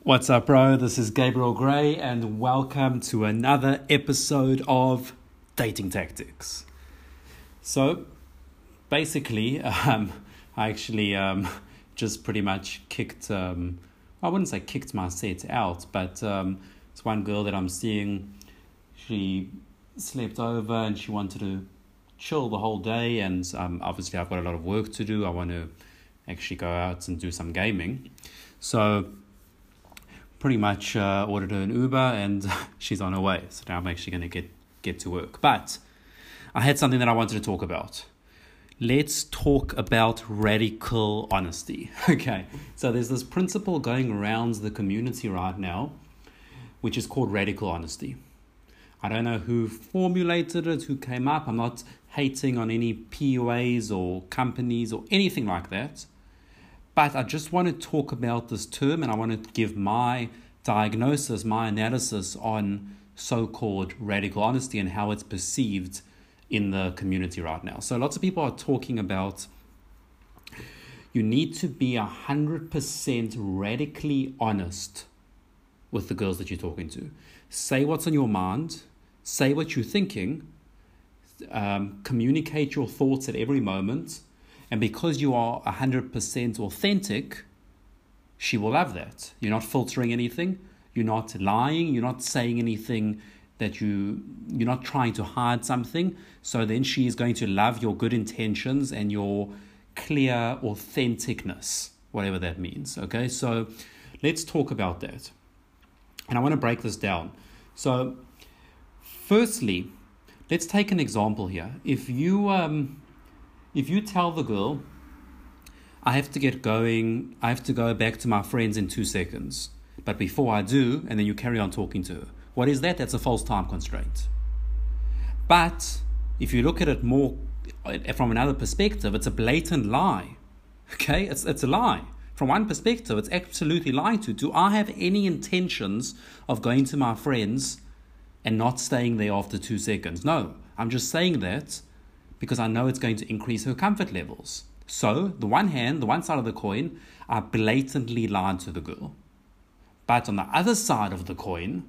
What's up, bro? This is Gabriel Gray, and welcome to another episode of Dating Tactics. So, basically, I actually just pretty much kicked, I wouldn't say kicked my set out, but it's one girl that I'm seeing. She slept over and she wanted to chill the whole day, and obviously I've got a lot of work to do. I want to actually go out and do some gaming. So, pretty much ordered her an Uber and she's on her way. So now I'm actually going to get to work. But I had something that I wanted to talk about. Let's talk about radical honesty. Okay, so there's this principle going around the community right now, which is called radical honesty. I don't know who formulated it, who came up. I'm not hating on any PUAs or companies or anything like that. But I just want to talk about this term, and I want to give my diagnosis, my analysis on so-called radical honesty and how it's perceived in the community right now. So lots of people are talking about you need to be 100% radically honest with the girls that you're talking to. Say what's on your mind, say what you're thinking, communicate your thoughts at every moment. And because you are 100% authentic, she will love that. You're not filtering anything. You're not lying. You're not saying anything that you're not trying to hide something. So then she is going to love your good intentions and your clear authenticness, whatever that means. Okay, so let's talk about that. And I want to break this down. So firstly, let's take an example here. If you tell the girl, I have to get going, I have to go back to my friends in 2 seconds, but before I do, and then you carry on talking to her. What is that? That's a false time constraint. But if you look at it more from another perspective, it's a blatant lie. Okay? It's a lie. From one perspective, it's absolutely lying to. Do I have any intentions of going to my friends and not staying there after 2 seconds? No. I'm just saying that because I know it's going to increase her comfort levels. So, the one side of the coin, I blatantly lied to the girl. But on the other side of the coin,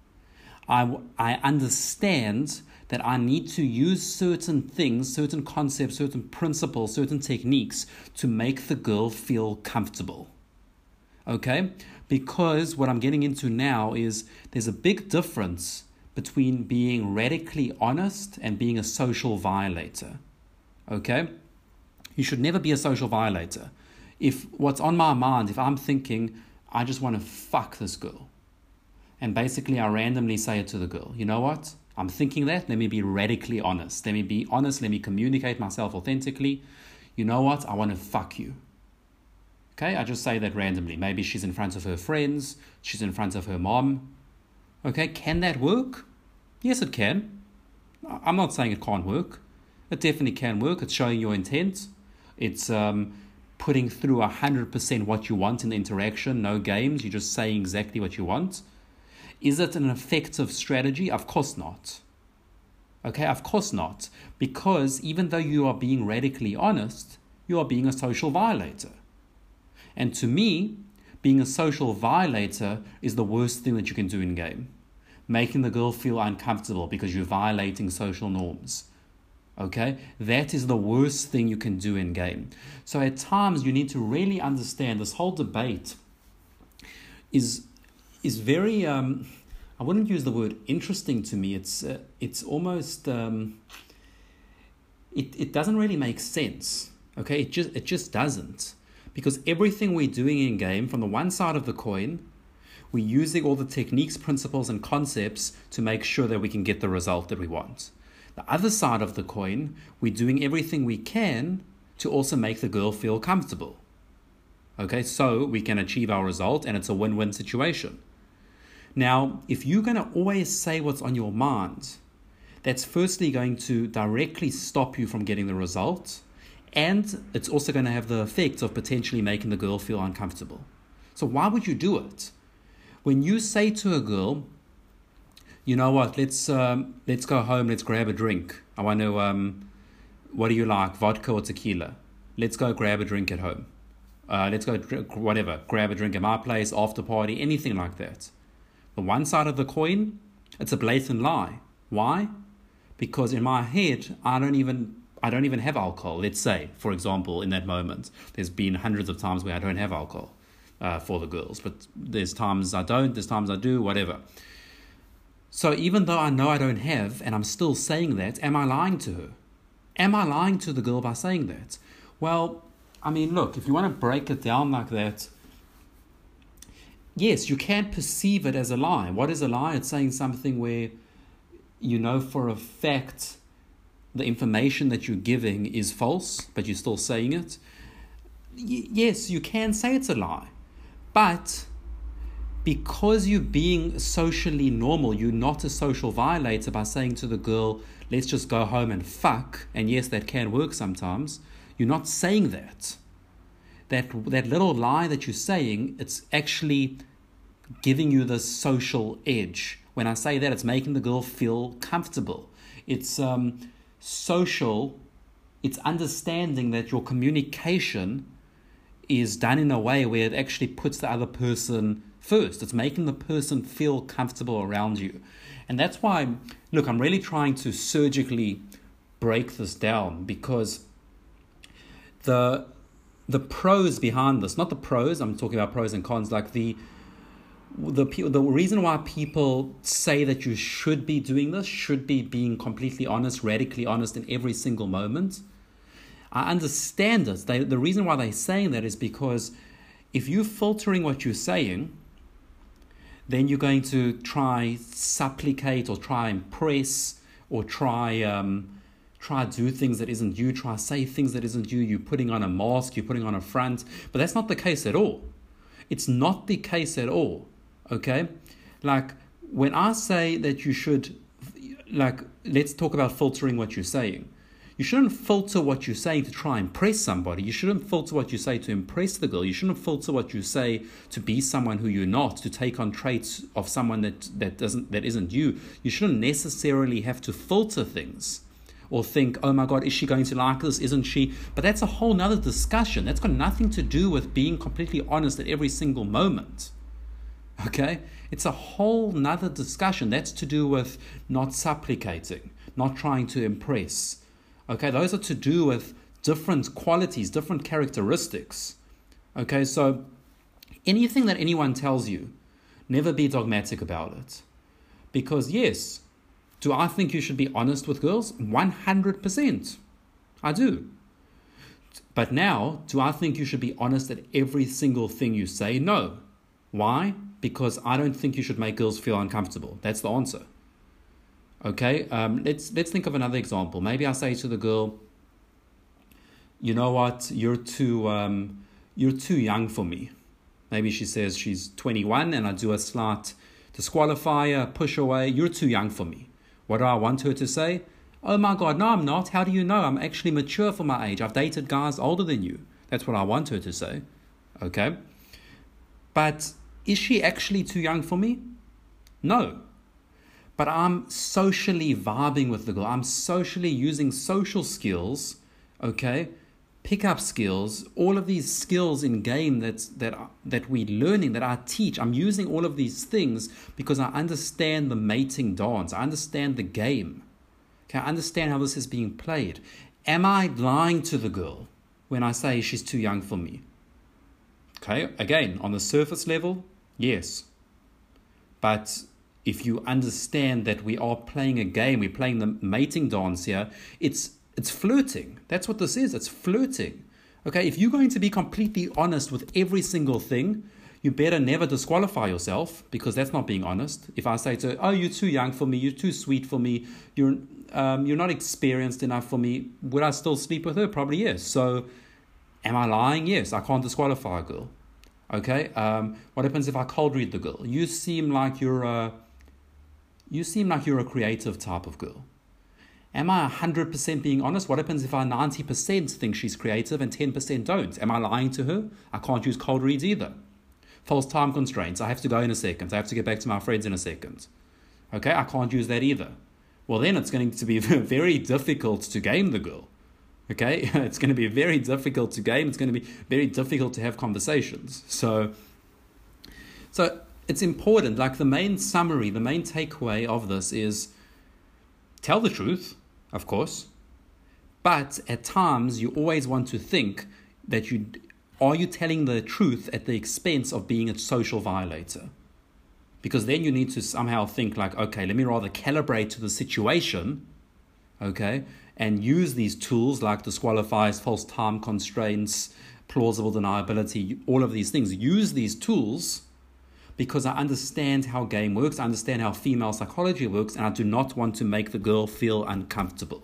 I understand that I need to use certain things, certain concepts, certain principles, certain techniques to make the girl feel comfortable. Okay? Because what I'm getting into now is there's a big difference between being radically honest and being a social violator. Okay? You should never be a social violator. If what's on my mind, if I'm thinking, I just want to fuck this girl, and basically I randomly say it to the girl, you know what? I'm thinking that, let me be radically honest. Let me be honest, let me communicate myself authentically. You know what? I want to fuck you. Okay? I just say that randomly. Maybe she's in front of her friends, she's in front of her mom. Okay, can that work? Yes, it can. I'm not saying it can't work. It definitely can work. It's showing your intent. It's putting through 100% what you want in the interaction. No games. You're just saying exactly what you want. Is it an effective strategy? Of course not. Okay, of course not. Because even though you are being radically honest, you are being a social violator. And to me, being a social violator is the worst thing that you can do in game. Making the girl feel uncomfortable because you're violating social norms. Okay? That is the worst thing you can do in game. So at times you need to really understand this whole debate is very, I wouldn't use the word interesting to me. It's almost, it doesn't really make sense. Okay? It just doesn't. Because everything we're doing in game, from the one side of the coin, we're using all the techniques, principles, and concepts to make sure that we can get the result that we want. The other side of the coin, we're doing everything we can to also make the girl feel comfortable. Okay, so we can achieve our result, and it's a win-win situation. Now, if you're going to always say what's on your mind, that's firstly going to directly stop you from getting the result. And it's also going to have the effect of potentially making the girl feel uncomfortable. So why would you do it? When you say to a girl, you know what, let's go home, let's grab a drink. I want to, what do you like, vodka or tequila? Let's go grab a drink at home. Let's go, whatever, grab a drink at my place, after party, anything like that. The one side of the coin, it's a blatant lie. Why? Because in my head, I don't even have alcohol. Let's say, for example, in that moment, there's been hundreds of times where I don't have alcohol for the girls, but there's times I don't, there's times I do, whatever. So even though I know I don't have, and I'm still saying that, am I lying to her? Am I lying to the girl by saying that? Well, I mean, look, if you want to break it down like that, yes, you can perceive it as a lie. What is a lie? It's saying something where you know for a fact the information that you're giving is false, but you're still saying it. Yes, you can say it's a lie. But because you're being socially normal, you're not a social violator by saying to the girl, let's just go home and fuck. And yes, that can work sometimes. You're not saying that. That little lie that you're saying, it's actually giving you this social edge. When I say that, it's making the girl feel comfortable. It's social. It's understanding that your communication is done in a way where it actually puts the other person first. It's making the person feel comfortable around you. And that's why, look, I'm really trying to surgically break this down, because the pros behind this, not the pros, I'm talking about pros and cons, like the reason why people say that you should be doing this, should be being completely honest, radically honest in every single moment. I understand it. The reason why they're saying that is because if you're filtering what you're saying, then you're going to try supplicate or try impress or try do things that isn't you, try say things that isn't you. You're putting on a mask, you're putting on a front, but that's not the case at all. It's not the case at all. Okay, like when I say that you should, like, let's talk about filtering what you're saying. You shouldn't filter what you're saying to try and impress somebody. You shouldn't filter what you say to impress the girl. You shouldn't filter what you say to be someone who you're not, to take on traits of someone that isn't you. You shouldn't necessarily have to filter things or think, oh my God, is she going to like this? Isn't she? But that's a whole nother discussion. That's got nothing to do with being completely honest at every single moment. Okay? It's a whole nother discussion. That's to do with not supplicating, not trying to impress. Okay, those are to do with different qualities, different characteristics. Okay, so anything that anyone tells you, never be dogmatic about it. Because yes, do I think you should be honest with girls? 100%. I do. But now, do I think you should be honest at every single thing you say? No. Why? Because I don't think you should make girls feel uncomfortable. That's the answer. Okay, let's think of another example. Maybe I say to the girl, you know what, you're too young for me. Maybe she says she's 21 and I do a slight disqualifier, push away. You're too young for me. What do I want her to say? Oh my God, no, I'm not. How do you know? I'm actually mature for my age. I've dated guys older than you. That's what I want her to say. Okay, but is she actually too young for me? No. But I'm socially vibing with the girl. I'm socially using social skills, okay, pickup skills, all of these skills in game that we're learning, that I teach. I'm using all of these things because I understand the mating dance. I understand the game. Okay, I understand how this is being played. Am I lying to the girl when I say she's too young for me? Okay, again, on the surface level, yes. But if you understand that we are playing a game, we're playing the mating dance here, it's flirting. That's what this is. It's flirting. Okay, if you're going to be completely honest with every single thing, you better never disqualify yourself, because that's not being honest. If I say to her, oh, you're too young for me, you're too sweet for me, you're not experienced enough for me, would I still sleep with her? Probably yes. So am I lying? Yes, I can't disqualify a girl. Okay, what happens if I cold read the girl? You seem like you're a creative type of girl. Am I 100% being honest? What happens if I 90% think she's creative and 10% don't? Am I lying to her? I can't use cold reads either. False time constraints. I have to go in a second. I have to get back to my friends in a second. Okay, I can't use that either. Well, then it's going to be very difficult to game the girl. Okay, it's going to be very difficult to game. It's going to be very difficult to have conversations. So it's important. Like the main summary, the main takeaway of this is tell the truth, of course, but at times you always want to think that are you telling the truth at the expense of being a social violator? Because then you need to somehow think like, okay, let me rather calibrate to the situation, okay, and use these tools like disqualifiers, false time constraints, plausible deniability, all of these things. Use these tools because I understand how game works, I understand how female psychology works, and I do not want to make the girl feel uncomfortable.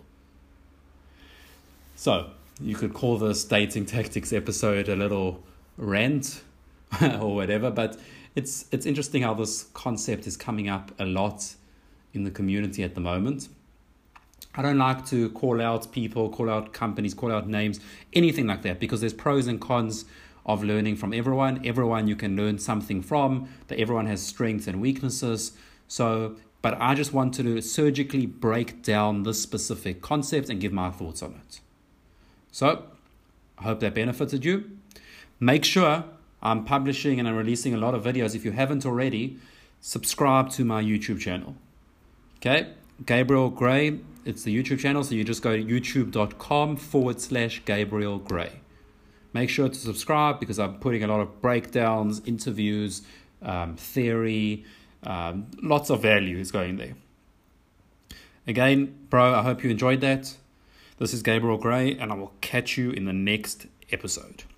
So, you could call this dating tactics episode a little rant or whatever, but it's interesting how this concept is coming up a lot in the community at the moment. I don't like to call out people, call out companies, call out names, anything like that, because there's pros and cons of learning from everyone. Everyone you can learn something from, that everyone has strengths and weaknesses. But I just wanted to surgically break down this specific concept and give my thoughts on it. So, I hope that benefited you. Make sure I'm publishing and I'm releasing a lot of videos. If you haven't already, subscribe to my YouTube channel. Okay, Gabriel Gray, it's the YouTube channel. So you just go to youtube.com/Gabriel Gray. Make sure to subscribe because I'm putting a lot of breakdowns, interviews, theory, lots of value is going there. Again, bro, I hope you enjoyed that. This is Gabriel Gray, and I will catch you in the next episode.